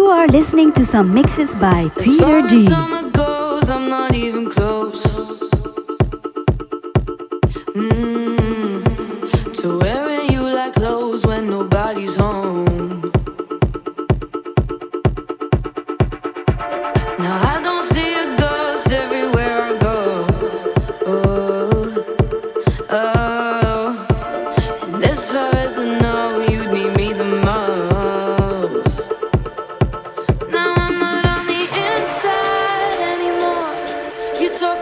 are listening to some mixes by As Peter far as D. summer goes, I'm not even close to wearing you like clothes when nobody's home. Now I don't see a ghost everywhere I go. Oh, oh. And as far as I know, you'd need me the most. Now I'm not on the inside anymore. You talk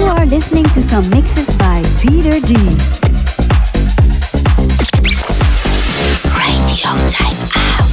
are listening to some mixes by Peter G. Radio Time Out.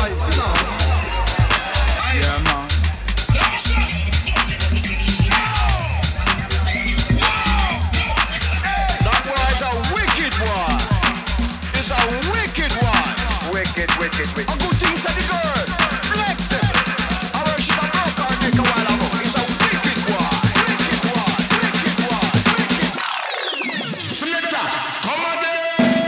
Yeah, man. That boy is a wicked one. It's a wicked one. Wicked. A good thing said the girl. Flexible. I wish she had broke her neck a while ago. It's a wicked one. Selector, come on there.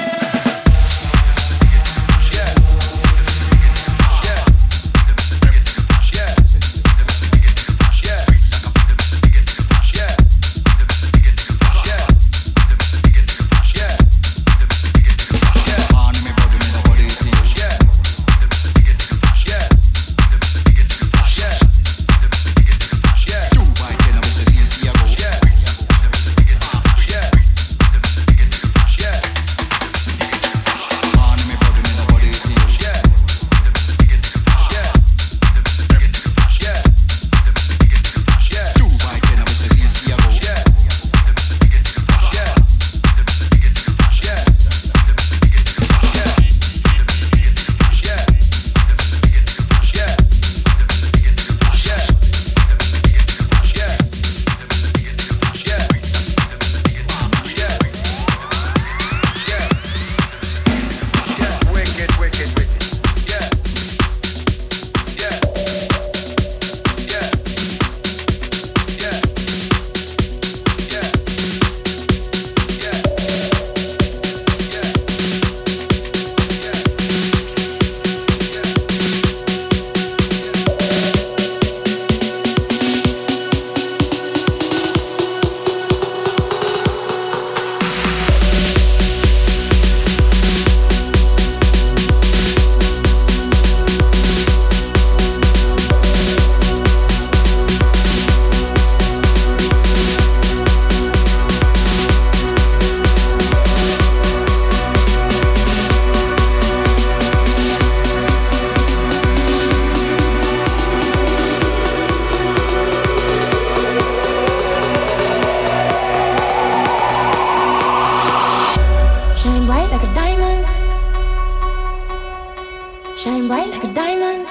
Shine bright like a diamond.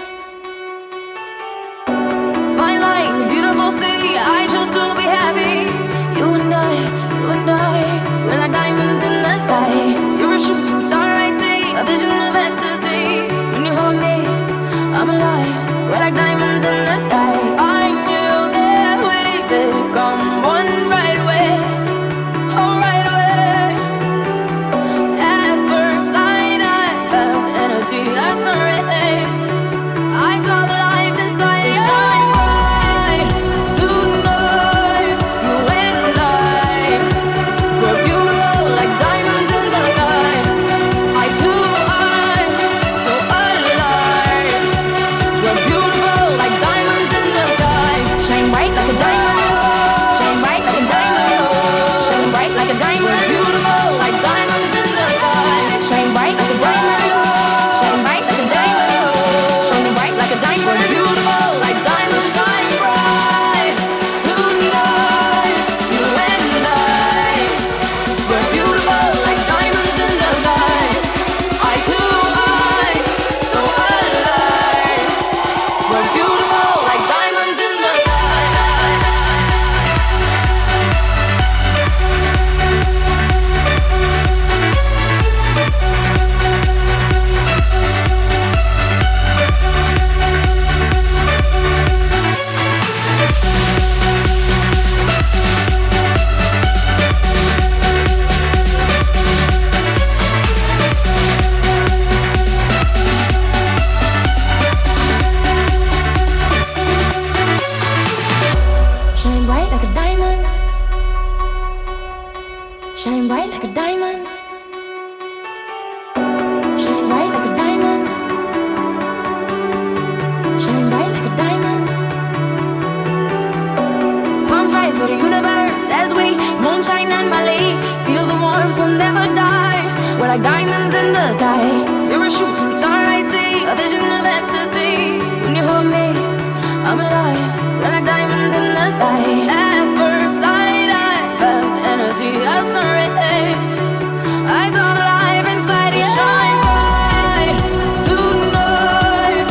Fine like the beautiful sea. I chose to be happy. You and I, we're like diamonds in the sky. You're a shooting star, I see, a vision of ecstasy. When you hold me, I'm alive. We're like diamonds in the sky. I knew that we'd become one right away. Oh, right away. At first sight, I felt energy. I saw it. I saw the light inside. So shine bright tonight. You and I, we're beautiful like diamonds in the sky. Eye to eye, so alive. We're beautiful like diamonds in the sky. Shine bright like a diamond. Shine bright like a diamond. Shine bright like a diamond. We're beautiful like diamonds in the sky. Shine bright like a diamond. Shine bright like a diamond. Shine bright like a diamond. We're beautiful like diamonds. Shine bright tonight. You and I, we're beautiful like diamonds in the sky. Eye to eye, so alive. We're beautiful like diamonds in the sky. Shine bright like a diamond. Shine bright like a diamond. Shine bright like a diamond. Shine bright like a diamond. Palms rise to the universe as we moonshine and Malay. Feel the warmth, we'll never die. We're like diamonds in the sky. You're a shooting star, I see, a vision of ecstasy. When you hold me, I'm alive. We're like diamonds in the sky. At first sight, I felt energy. I saw it. I saw the life inside you. Shine bright tonight.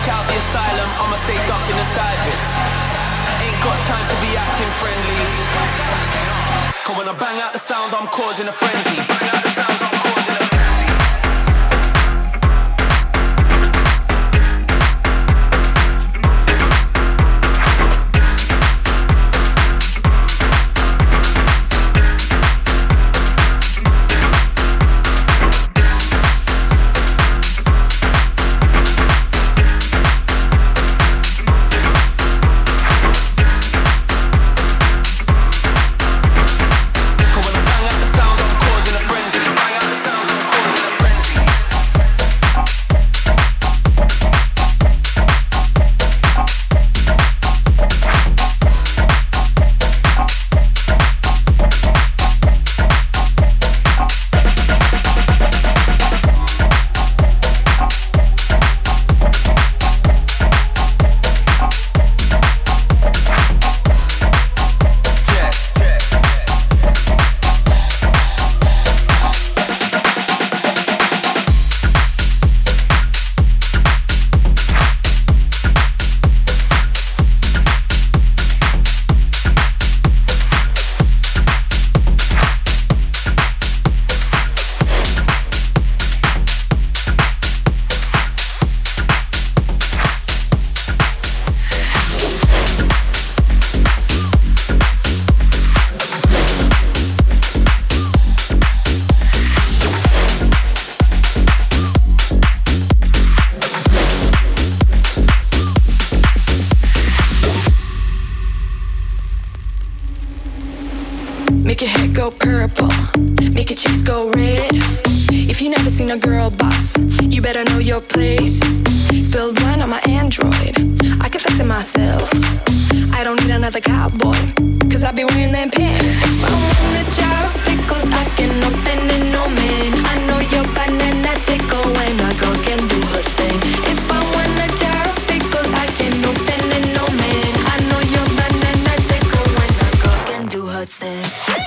walk out the asylum, I'ma stay ducking and diving. Ain't got time to be acting friendly. Cause when I bang out the sound, I'm causing a frenzy. Bang out the sound, I'm causing a frenzy. Make your head go purple, make your cheeks go red. If you never seen a girl boss, you better know your place. Spilled wine on my Android, I can fix it myself. I don't need another cowboy, cause I be wearing them pants. If I want a jar of pickles, I can open it, no man. I know your banana tickle when a girl can do her thing. If I want a jar of pickles, I can open it, no man. I know your banana tickle when a girl can do her thing.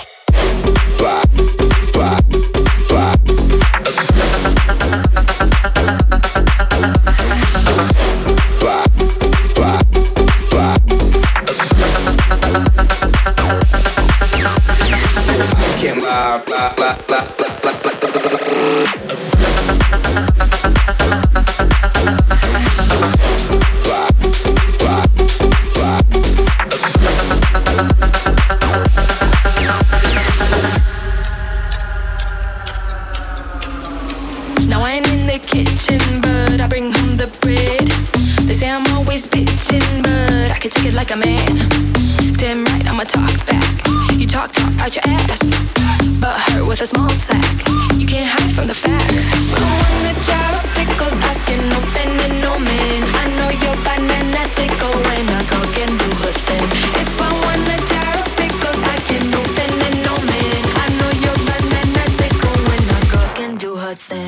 Now I ain't in the kitchen, but I bring home the bread. They say I'm always bitching, but I can take it like a man. Damn right, I'ma talk back. You talk out your ass, but hurt with a small sack. You can't hide from the facts. If I want a jar of pickles, I can open it, no man. I know your banana tickle when a girl can do her thing. If I want a jar of pickles, I can open it, no man. I know your banana tickle when a girl can do her thing.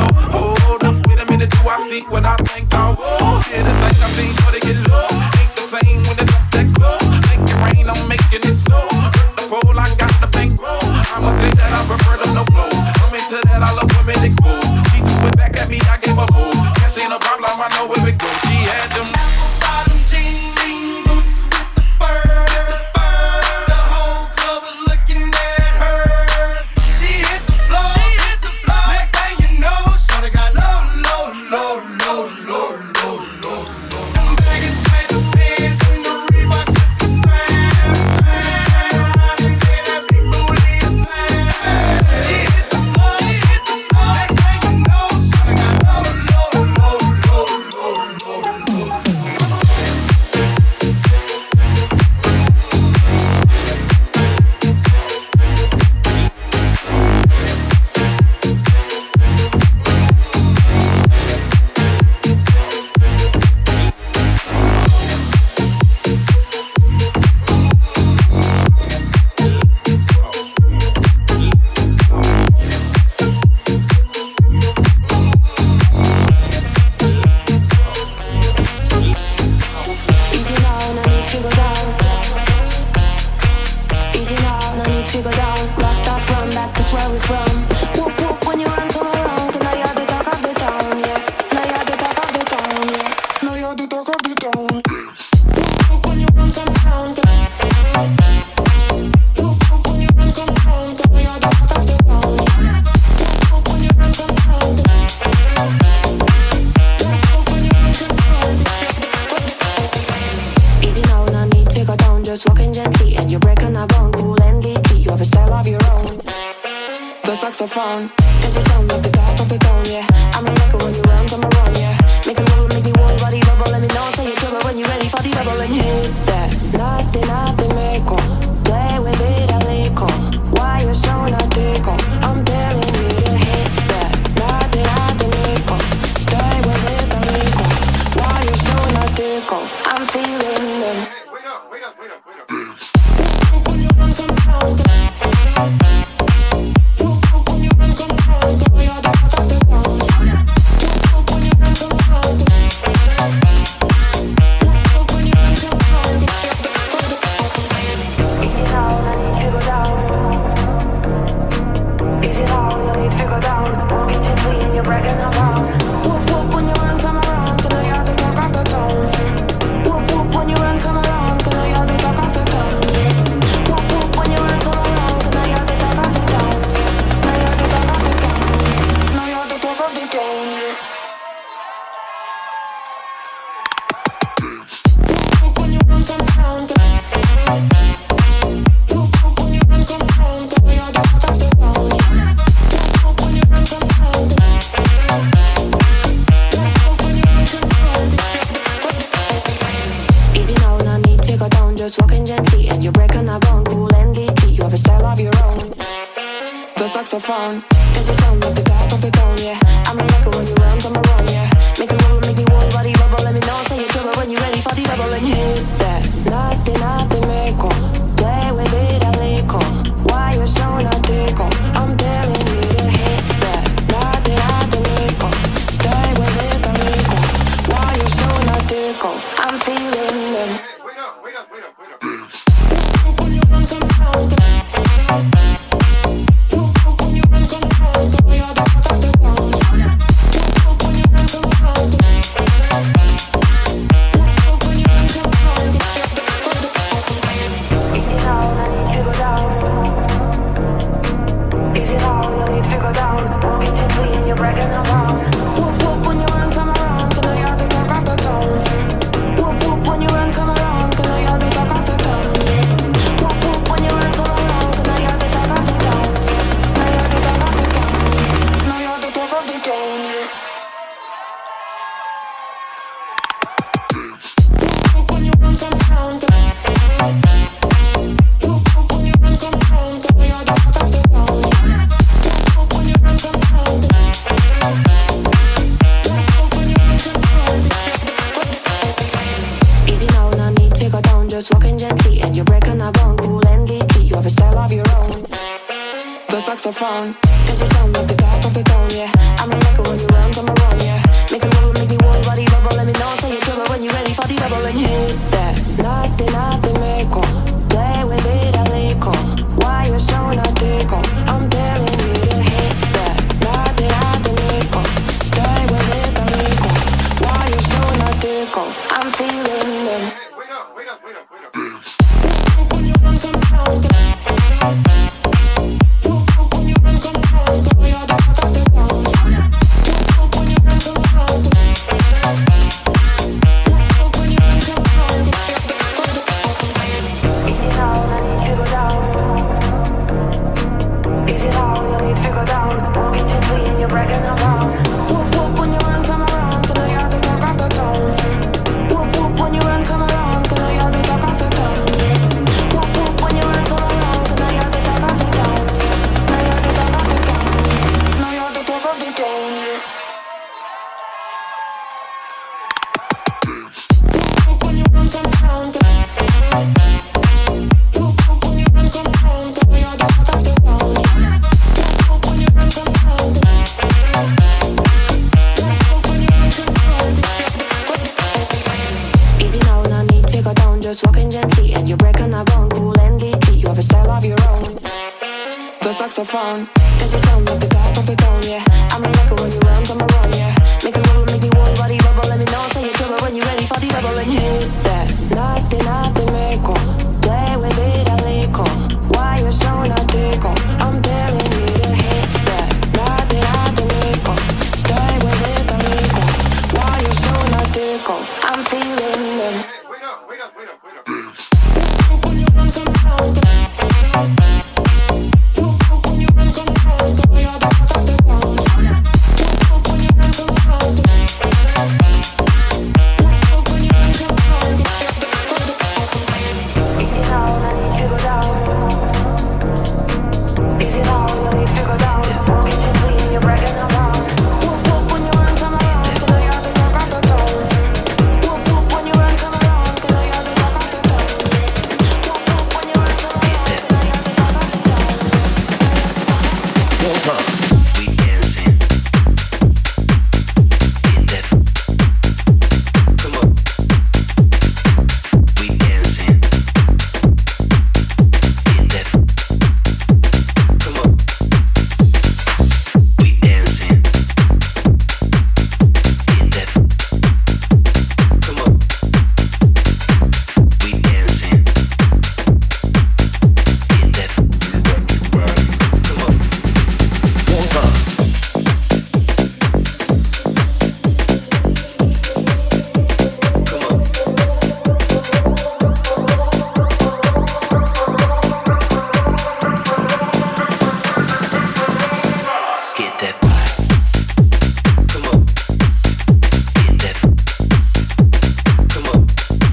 low. Hold up, wait a minute, do I see what I think I will? Yeah, the night I've seen sure to get low. Ain't the same when it's up that close. Make it rain, I'm making it snow. Hurt the pole, I got the bankroll. I'ma say that I prefer them no clothes. I'm into that, I love women exposed. She threw it back at me, I gave her move. Cash ain't a problem, I know where it goes. She had them apple bottom jean boots with the fur. The whole club was looking at her. She hit the floor. Next thing you know, shorty got low. Them baggies made the pants and the Reeboks with the straps. Turn around and get that big booty a slam. She hit the floor. Next thing you know, shorty got low. Just walking gently and you're breaking a bone. Cool and deeply, you have a style of your own. The saxophone is the sound of the top of the tone, yeah. I'm a record when you run, come around, yeah. Make a move, make me whole body bubble. Let me know, say you're trouble when you're ready for the double and hit that. Nothing, make play with it a little. Why you so not tickle? I'm telling you to hit that. Nothing, make stay with it a little. Why you so not tickle? I'm feeling them. Wait up. When you run, come around. When you run, come around. Come on, you're the fuck of the town. When you run, come around. When you run, come around. Easy now, I need to go down. Easy now, I need to go down. Walking gently and you're bragging around. When you run, come around. Come on, you're the talk of the town. When you run, come around. Come on, you're the talk of the town. When you run, come around. Come on, you're the talk of the town. Now you're the talk of the town. When you run, come around. When you run, come around. Come on, you're the talk of the town. When you run, come around. When you run, come around. Easy now, no need to go down. Just walking gently and you're breaking a bone. Cool and deeply, you have a style of your own. The saxophone is the sound of the top of the tone, yeah. I'm a record when you run, come around, yeah. Make a move, make me whole body bubble. Let me know, say you're trouble when you're ready for the double and hit that. Nothing, make play with it a little. Why you so not tickle? I'm telling you to hit that. Nothing, make stay with it a little. Why you so not tickle? I'm feeling them. Wait up. When you run, come around. When you run, come around. Come on, you're the fuck of the town. When you run, come around. When you run, come around. Easy now, I need to go down. Easy now, I need to go down. Walking gently and you're bragging around. When you run, come around. Come on, you're the talk of the town. When you run, come around. Come on, you're the talk of the town. When you run, come around. Come on, you're the talk of the town. Now you're the talk of the town. When you run, come around. When you run, come around. Come on, you're the talk of the town. When you run, come around. When you run, come around. Easy now, no need to go down. Just walking gently and you're breaking a bone. Cool and deeply, you have a style of your own. The saxophone is the sound of the top of the tone, yeah. I'm a record when you saxophone. Does it sound like the top of the tone, yeah? I'm a record when you run, come around, yeah. Make it roll, make me whole body bubble. Let me know, say you're trouble when you're ready for the bubble. And you hit that, nothing, meco. Play with it a little. Why you're so not tickle? I'm telling you to hit that, nothing, meco. Stay with it a little. Why you're so not tickle? I'm feeling them. Wait up. When you run, come around. When you run, come around. Come you're the fuck of the ground. When you run, come around. When you run, come around. Easy now, I need to go down. Easy now, I need to go down. Kitchen clean, you're breaking around. When you run, come around. Come you're the fuck of the ground. When you run, come around. Come you're the fuck of the ground. When you run, come around. Come you're the fuck of the ground. We dancing. Get that. Come on. We dancing. Get that. Come on. We dancing. Get that. Come on. We dancing. Get that. Come on. One time. Come on. Get that body. Come on. Get that. Come on.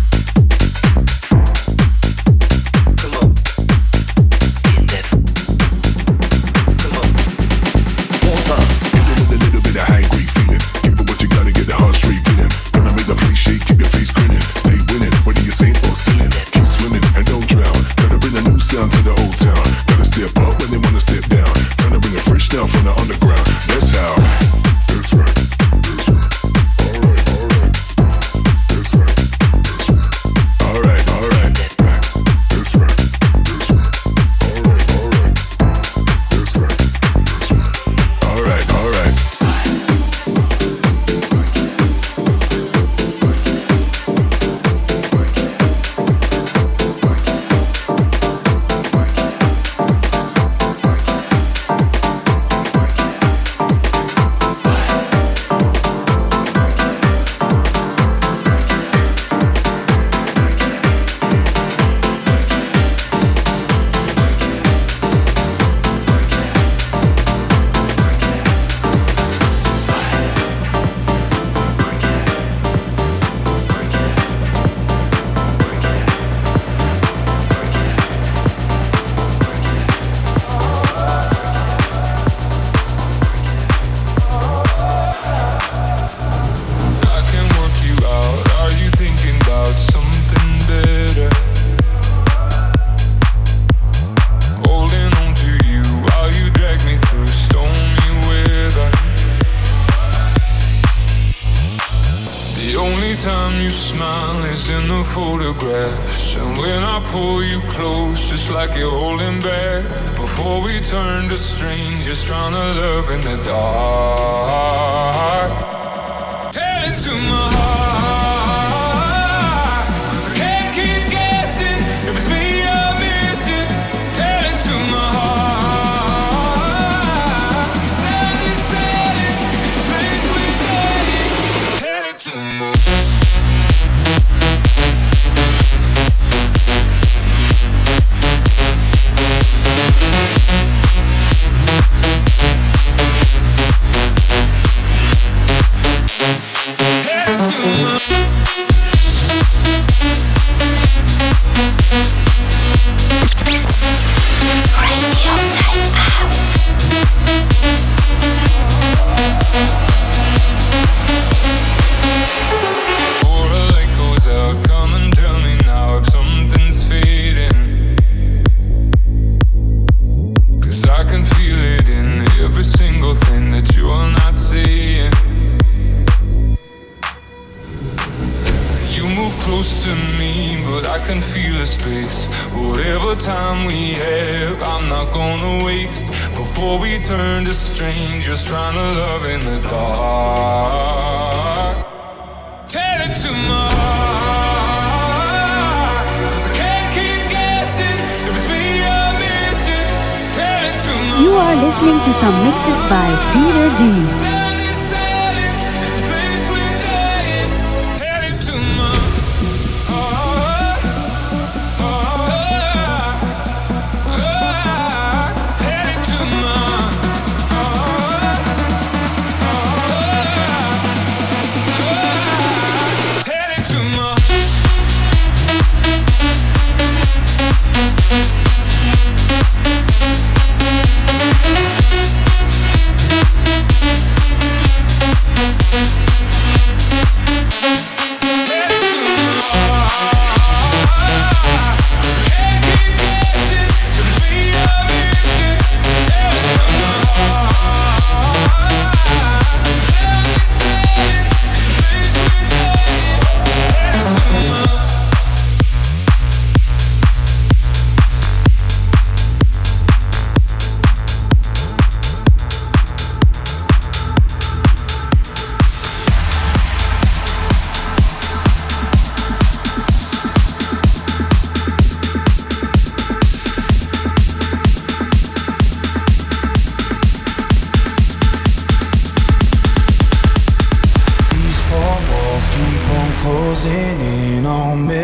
Come on. Get that. Come on. One time. Hit it with a little bit of high grade feeling. Give it what you gotta get the heart straight beating. Gonna make the place shake, keep your face grinning. Stay winning, whether you're saint or sinning. Keep swimming and don't drown. Gotta bring a new sound to the old town. Gotta step up when they wanna step down. Trying to bring it fresh down from the underground. That's how. That's right. That's right. Alright. That's right. That's right. Alright. That's right. That's right. Alright. That's right. That's right. Alright. I can work you out. Are you thinking about something better? Holding on to you while you drag me through stormy weather. The only time you smile is in the photographs, and when I pull you close, it's like you're holding back. Before we turn to strangers, trying to love in the dark. Tell it to my heart, 'cause I can't keep guessing if it's me you're missing. Tell it to my heart. Tell it, it's a place we're getting. Tell it to my close to me, but I can feel the space. Whatever time we have, I'm not gonna waste. Before we turn to strangers, trying to love in the dark. Tell it to my heart, 'cause I can't keep guessing if it's me you're missing. Tell it to my You are listening to some mixes by Peter D. Closing in on me.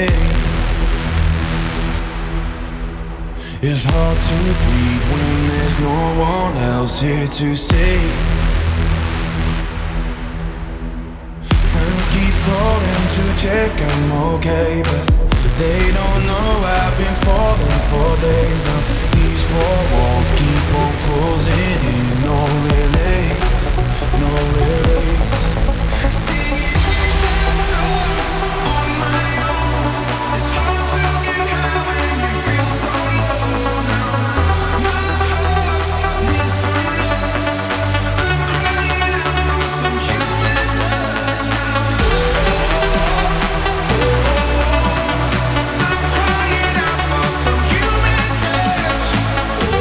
It's hard to breathe when there's no one else here to see. Friends keep calling to check I'm okay, but they don't know I've been falling for days now. These four walls keep on closing in. No relief, no relief.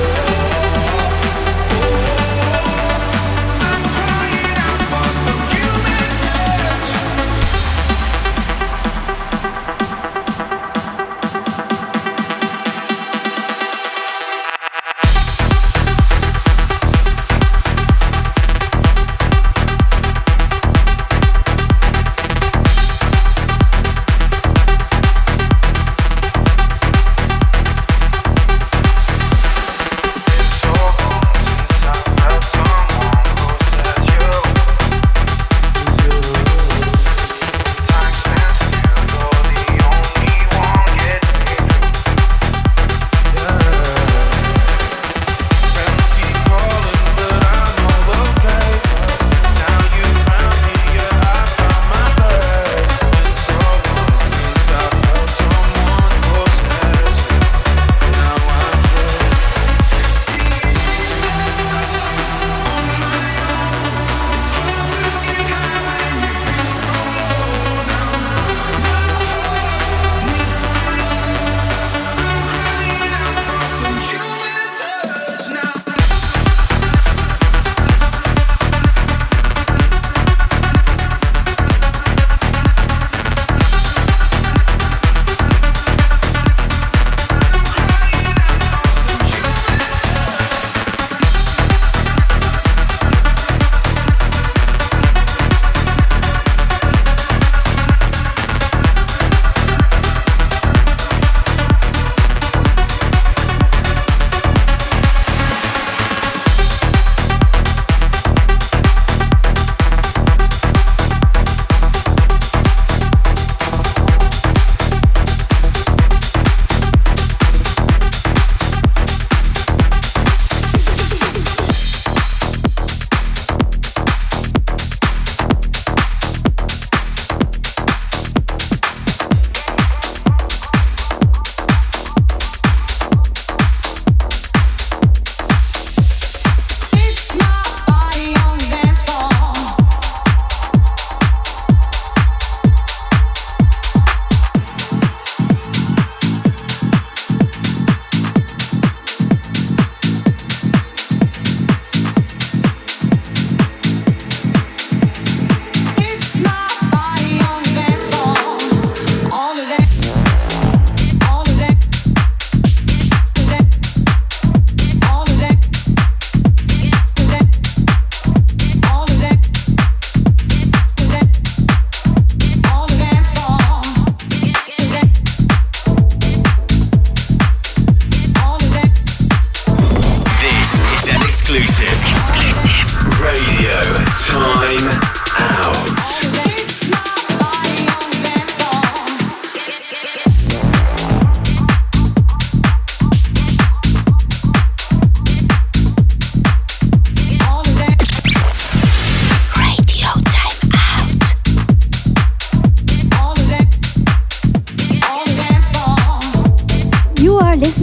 For some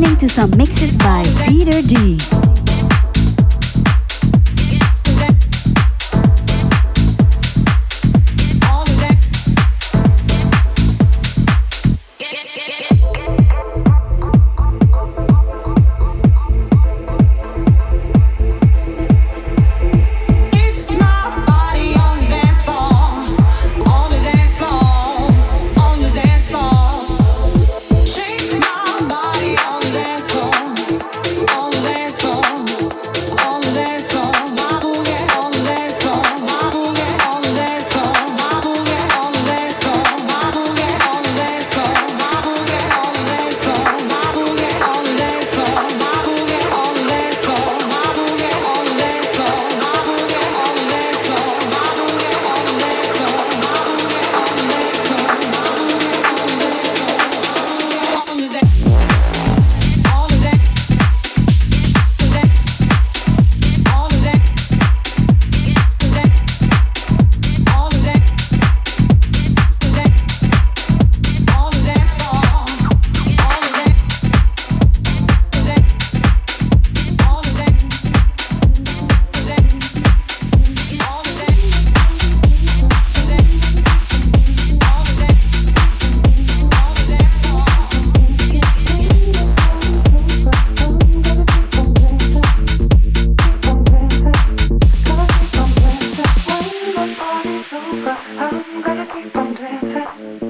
listening to some mixes by Peter D.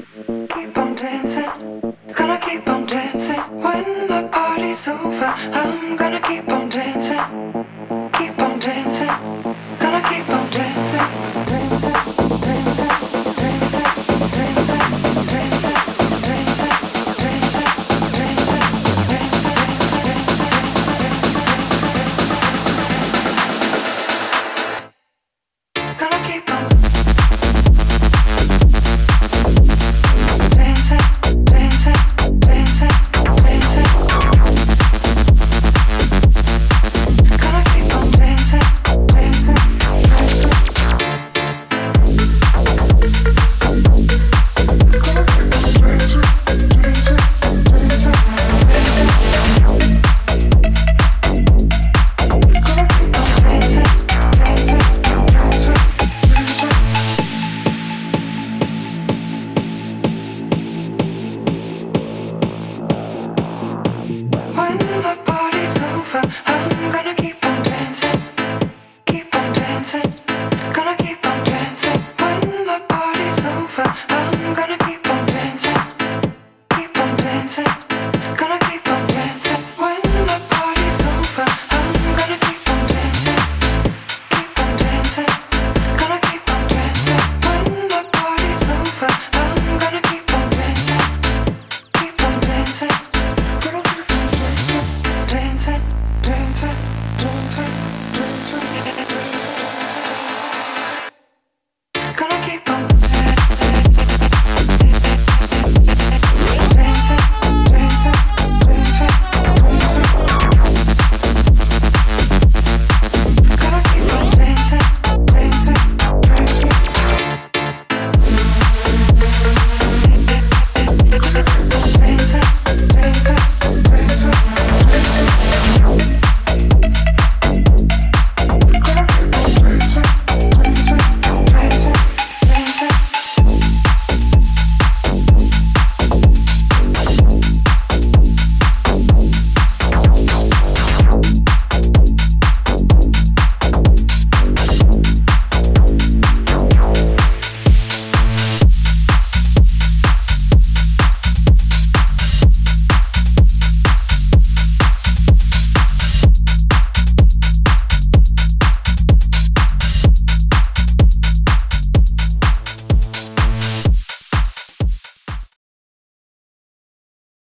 Gonna keep on dancing when the party's over.